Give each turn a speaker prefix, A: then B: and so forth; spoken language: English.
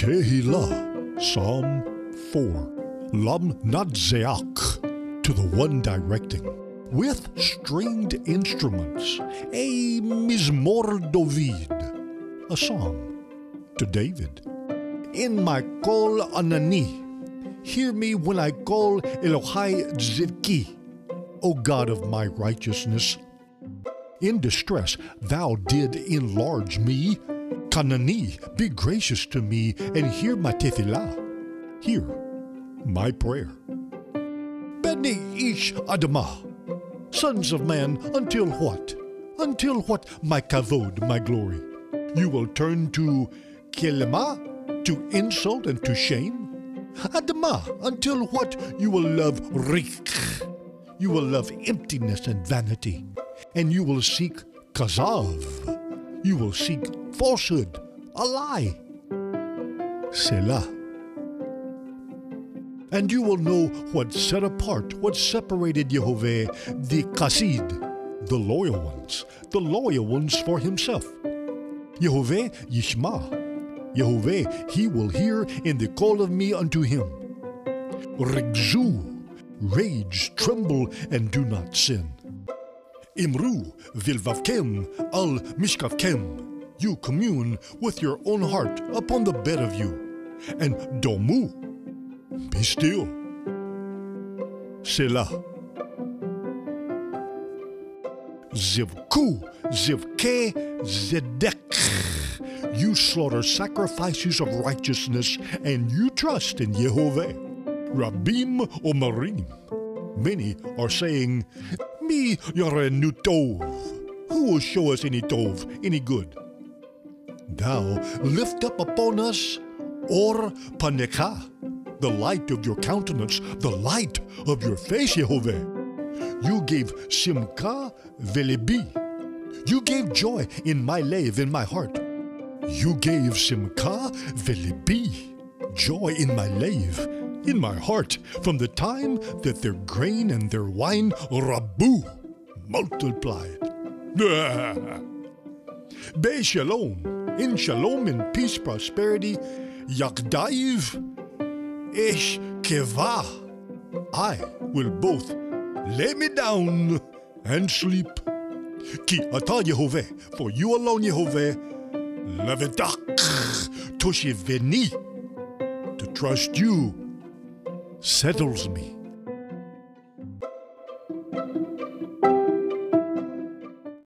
A: Tehillah, Psalm 4. Lam Nadzeach, to the one directing. With stringed instruments, a Mizmor David, a psalm to David. In my kol anani, hear me when I call Elohai Tzidki, O God of my righteousness. In distress thou did enlarge me. Kanani, be gracious to me and hear my tefillah. Hear my prayer. Beni ish adamah, sons of man, until what? Until what, my kavod, my glory? You will turn to kelema, to insult and to shame? Adamah, until what? You will love rik. You will love emptiness and vanity. And you will seek kazav. You will seek falsehood, a lie. Selah. And you will know what set apart, what separated Yehovah, the Kasid, the loyal ones for himself. Yehovah Yishma. Yehovah, he will hear in the call of me unto him. Rigzu, rage, tremble, and do not sin. Imru vilvavkem al mishkavkem. You commune with your own heart upon the bed of you. And domu, be still. Selah. Zivku, zivke, zedek. You slaughter sacrifices of righteousness, and you trust in Yehovah. Rabim omarim. Many are saying, Mi yarenu tov. Who will show us any tov, any good? Thou lift up upon us or panekah, the light of your countenance, the light of your face, Yehovah. You gave simka velebi. You gave joy in my lave, in my heart. You gave simka velebi, joy in my lave, in my heart, from the time that their grain and their wine, rabu, multiplied. Be shalom, in shalom, in peace, prosperity, yakdaiv, ish keva. I will both lay me down and sleep. Ki ata Yehovah, for you alone, Yehovah, levitak, toshiveni, to trust you settles me.